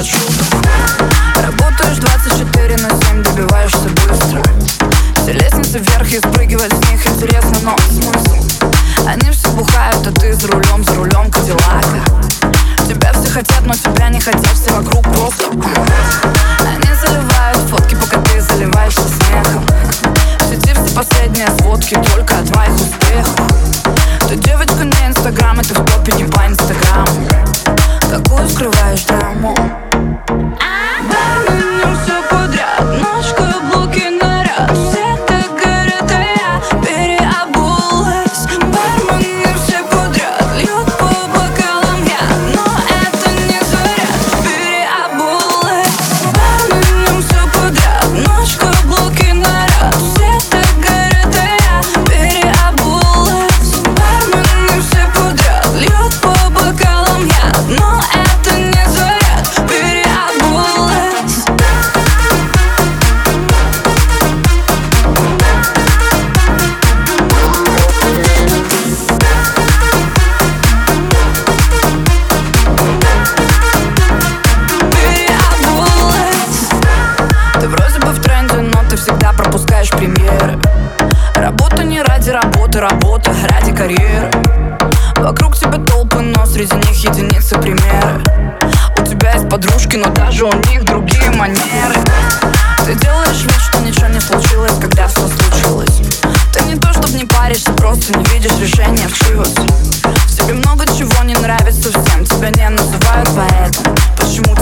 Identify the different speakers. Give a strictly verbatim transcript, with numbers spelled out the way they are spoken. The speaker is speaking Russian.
Speaker 1: нет шуток. Работаешь двадцать четыре на семь, добиваешься быстро. Все лестницы вверх и спрыгивать с них интересно, но смысл? Они все бухают, а ты за рулем, за рулем Кадиллака. Тебя все хотят, но тебя не хотят, все вокруг просто. Они заливают фотки, пока ты заливаешься смехом. В сети все последние сводки только о твоих успехах. Ты девочка не инстаграм, и ты в топе не по инстаграму. Какую скрываешь драму? Барменю все подряд, ночь, каблуки, наряд. Все так горят, а я переобулась. Барменю все подряд, льют по бокалам я, но это не заряд, переобулась. Барменю все подряд, ночь, каблуки, наряд. Все так горят, а я переобулась. Барменю все подряд, льют по бокалам я, но это не заряд, переобулась. Ты вроде бы в тренде, но ты всегда пропускаешь премьеры. Работа не ради работы, работа ради карьеры. Вокруг тебя толпы, но среди них единицы примеры. У тебя есть подружки, но даже у них другие манеры. Ты делаешь вид, что ничего не случилось, когда все случилось. Ты не то, чтоб не паришься, просто не видишь решения вшиваться. В тебе много чего не нравится всем, тебя не называют поэтом. Почему